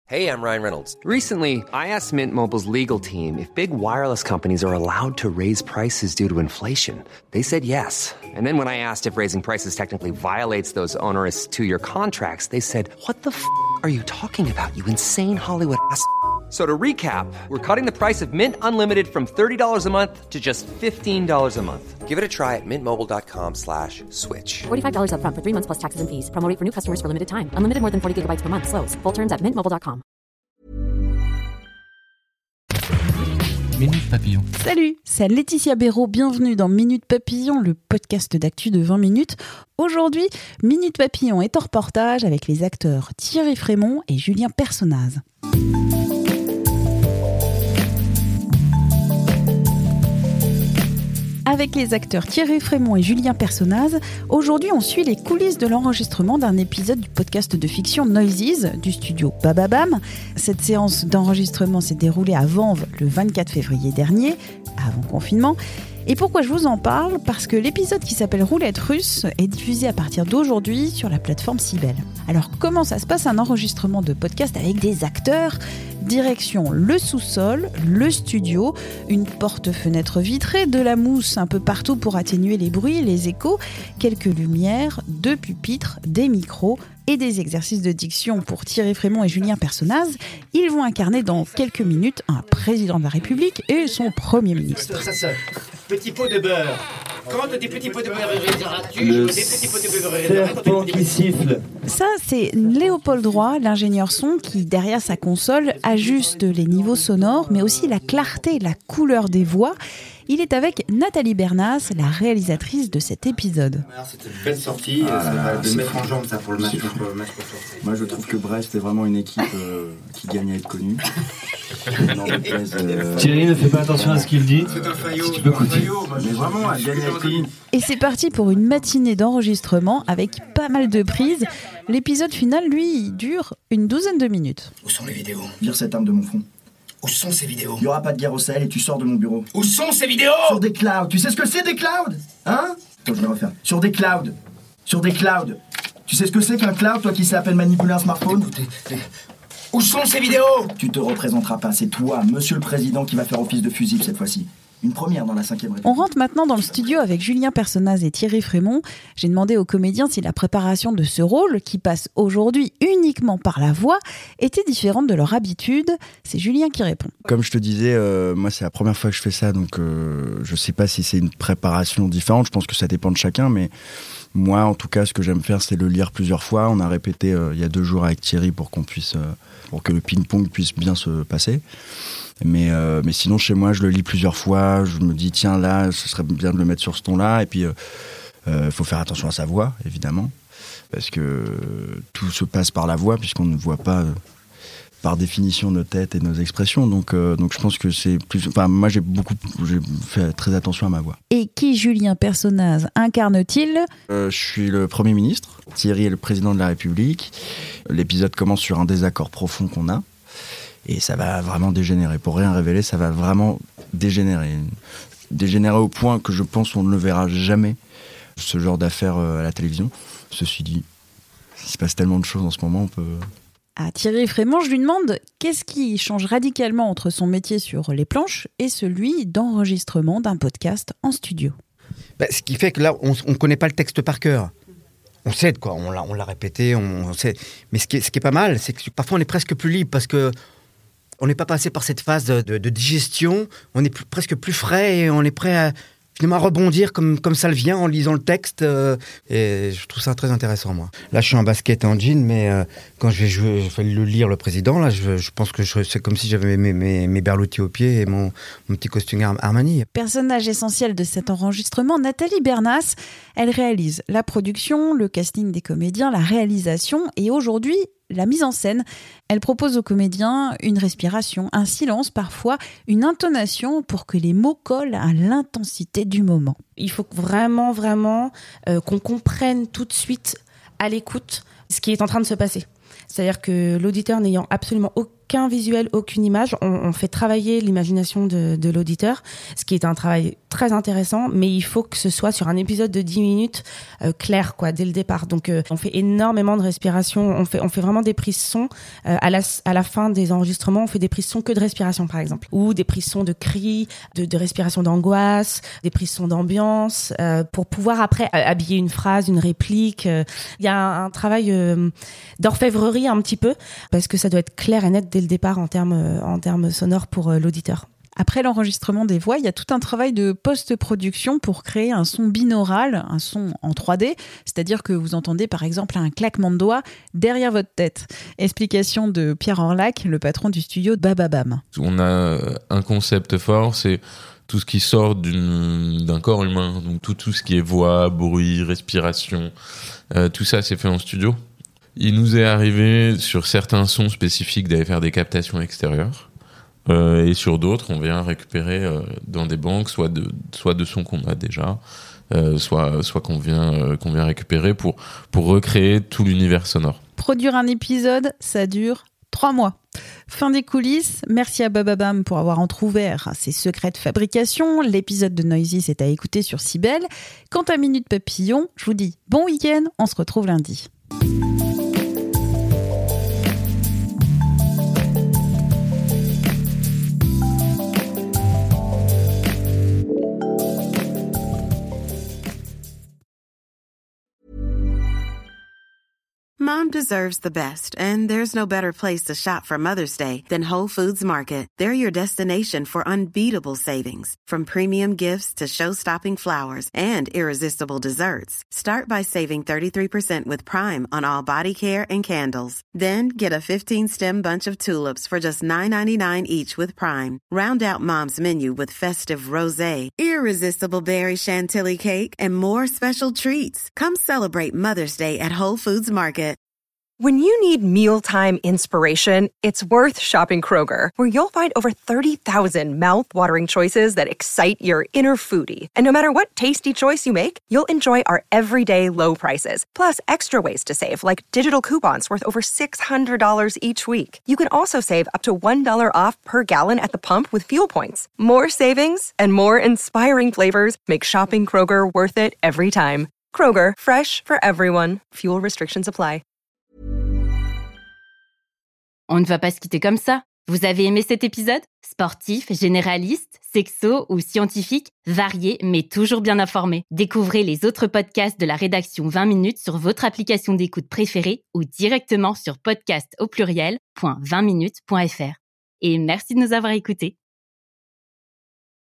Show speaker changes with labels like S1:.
S1: Hey, I'm Ryan Reynolds.
S2: Recently, I asked Mint Mobile's legal team if big wireless companies are allowed to raise prices due to inflation. They said yes. And then when I asked if raising prices technically violates those onerous two-year contracts, they said, "What the f*** are you talking about, you insane Hollywood ass?" So to recap, we're cutting the price of Mint Unlimited from $30 a month to just $15 a month.
S1: Give it a try at mintmobile.com/switch.
S3: $45 up front for 3 months plus taxes and fees. Promo rate for new customers for limited time. Unlimited more than 40 gigabytes per month. Slows full terms at mintmobile.com.
S4: Minute Papillon.
S5: Salut, c'est Laetitia Béraud, bienvenue dans Minute Papillon, le podcast d'actu de 20 minutes. Aujourd'hui, Minute Papillon est en reportage avec les acteurs Thierry Frémont et Julien Personnaz. Avec les acteurs Thierry Frémont et Julien Personnaz, aujourd'hui on suit les coulisses de l'enregistrement d'un épisode du podcast de fiction Noises du studio Bababam. Cette séance d'enregistrement s'est déroulée à Vanves le 24 février dernier, avant confinement. Et pourquoi je vous en parle ? Parce que l'épisode qui s'appelle Roulette russe est diffusé à partir d'aujourd'hui sur la plateforme Sibel. Alors comment ça se passe un enregistrement de podcast avec des acteurs ? Direction le sous-sol, le studio, une porte-fenêtre vitrée, de la mousse un peu partout pour atténuer les bruits, les échos, quelques lumières, 2 pupitres, des micros et des exercices de diction pour Thierry Frémont et Julien Personnaz. Ils vont incarner dans quelques minutes un président de la République et son Premier ministre.
S6: Petit pot de beurre. Quand des petits pots de beurre réaliseras-tu
S7: Le
S6: des petits pots de beurre
S7: serpent qui siffle.
S5: Ça, c'est Léopold Roy, l'ingénieur son, qui, derrière sa console, ajuste les niveaux sonores, mais aussi la clarté et la couleur des voix. Il est avec Nathalie Bernas, la réalisatrice de cet épisode.
S6: C'était une belle sortie, ça va de mettre en jambe ça pour le match.
S7: Moi je trouve que Brest est vraiment une équipe qui gagne à être connue.
S4: Thierry ne fait pas attention à ce qu'il dit.
S6: C'est un faillot.
S4: Si tu peux continuer.
S7: Mais vraiment, elle gagne à être connue.
S5: Et c'est parti pour une matinée d'enregistrement avec pas mal de prises. L'épisode final, lui, dure une douzaine de minutes.
S6: Où sont les vidéos ?
S7: Vire cette arme de mon front.
S6: Où sont ces vidéos ?
S7: Il n'y aura pas de guerre au Sahel et tu sors de mon bureau.
S6: Où sont ces vidéos ?
S7: Sur des clouds. Tu sais ce que c'est des clouds ? Hein ? Attends, je vais refaire. Sur des clouds. Sur des clouds. Tu sais ce que c'est qu'un cloud, toi qui sais à peine manipuler un smartphone ?
S6: Où sont ces vidéos ?
S7: Tu te représenteras pas, c'est toi, monsieur le président, qui va faire office de fusible cette fois-ci. Une première dans la 5e République.
S5: On rentre maintenant dans le studio avec Julien Personnaz et Thierry Frémont. J'ai demandé aux comédiens si la préparation de ce rôle, qui passe aujourd'hui uniquement par la voix, était différente de leur habitude. C'est Julien qui répond.
S8: Comme je te disais, moi c'est la première fois que je fais ça, donc je sais pas si c'est une préparation différente. Je pense que ça dépend de chacun, mais moi en tout cas ce que j'aime faire c'est le lire plusieurs fois. On a répété il y a 2 jours avec Thierry pour qu'on puisse, pour que le ping-pong puisse bien se passer. Mais sinon chez moi je le lis plusieurs fois, je me dis tiens là ce serait bien de le mettre sur ce ton là, et puis faut faire attention à sa voix évidemment, parce que tout se passe par la voix puisqu'on ne voit pas par définition nos têtes et nos expressions, donc je pense que c'est plus, enfin moi j'ai fait très attention à ma voix.
S5: Et qui Julien Personnaz incarne-t-il ?
S8: Je suis le Premier ministre, Thierry est le président de la République, l'épisode commence sur un désaccord profond qu'on a. Et ça va vraiment dégénérer. Pour rien révéler, ça va vraiment dégénérer. Dégénérer au point que je pense qu'on ne le verra jamais, ce genre d'affaires à la télévision. Ceci dit, il se passe tellement de choses en ce moment, on peut...
S5: À Thierry Frémont, je lui demande qu'est-ce qui change radicalement entre son métier sur les planches et celui d'enregistrement d'un podcast en studio.
S9: Ce qui fait que là, on ne connaît pas le texte par cœur. On sait de quoi, on l'a répété, on sait. Mais ce qui est pas mal, c'est que parfois on est presque plus libre parce que on n'est pas passé par cette phase de digestion, on est presque plus frais et on est prêt à finalement rebondir comme ça le vient en lisant le texte. Et je trouve ça très intéressant, moi. Là, je suis en basket et en jean, mais quand je vais le lire, le président, là, je pense que c'est comme si j'avais mes berloutis aux pieds et mon petit costume Armani.
S5: Personnage essentiel de cet enregistrement, Nathalie Bernas. Elle réalise la production, le casting des comédiens, la réalisation et aujourd'hui, la mise en scène. Elle propose aux comédiens une respiration, un silence parfois, une intonation pour que les mots collent à l'intensité du moment.
S10: Il faut vraiment qu'on comprenne tout de suite à l'écoute ce qui est en train de se passer. C'est-à-dire que l'auditeur n'ayant absolument aucun visuel, aucune image. On fait travailler l'imagination de l'auditeur, ce qui est un travail très intéressant, mais il faut que ce soit sur un épisode de 10 minutes clair, quoi, dès le départ. Donc, on fait énormément de respiration. On fait vraiment des prises son. À la fin des enregistrements, on fait des prises son que de respiration, par exemple. Ou des prises son de cris, de respiration d'angoisse, des prises son d'ambiance, pour pouvoir après habiller une phrase, une réplique. Il y a un travail d'orfèvrerie un petit peu, parce que ça doit être clair et net dès le départ en termes sonores pour l'auditeur.
S5: Après l'enregistrement des voix, il y a tout un travail de post-production pour créer un son binaural, un son en 3D, c'est-à-dire que vous entendez par exemple un claquement de doigts derrière votre tête. Explication de Pierre Orlac, le patron du studio Bababam.
S11: On a un concept fort, c'est tout ce qui sort d'un corps humain, donc tout ce qui est voix, bruit, respiration, tout ça c'est fait en studio. Il nous est arrivé sur certains sons spécifiques d'aller faire des captations extérieures. Et sur d'autres, on vient récupérer dans des banques, soit de sons qu'on a déjà, soit qu'on vient récupérer pour recréer tout l'univers sonore.
S5: Produire un épisode, ça dure 3 mois. Fin des coulisses, merci à Bababam pour avoir entrouvert ses secrets de fabrication. L'épisode de Noisy est à écouter sur Cybelle. Quant à Minute Papillon, je vous dis bon week-end, on se retrouve lundi.
S12: Mom deserves the best, and there's no better place to shop for Mother's Day than Whole Foods Market. They're your destination for unbeatable savings, from premium gifts to show-stopping flowers and irresistible desserts. Start by saving 33% with Prime on all body care and candles. Then get a 15-stem bunch of tulips for just $9.99 each with Prime. Round out Mom's menu with festive rosé, irresistible berry chantilly cake, and more special treats. Come celebrate Mother's Day at Whole Foods Market.
S13: When you need mealtime inspiration, it's worth shopping Kroger, where you'll find over 30,000 mouth-watering choices that excite your inner foodie. And no matter what tasty choice you make, you'll enjoy our everyday low prices, plus extra ways to save, like digital coupons worth over $600 each week. You can also save up to $1 off per gallon at the pump with fuel points. More savings and more inspiring flavors make shopping Kroger worth it every time. Kroger, fresh for everyone. Fuel restrictions apply.
S14: On ne va pas se quitter comme ça. Vous avez aimé cet épisode ? Sportif, généraliste, sexo ou scientifique, varié mais toujours bien informé. Découvrez les autres podcasts de la rédaction 20 minutes sur votre application d'écoute préférée ou directement sur podcast@20minutes.fr. Et merci de nous avoir écoutés.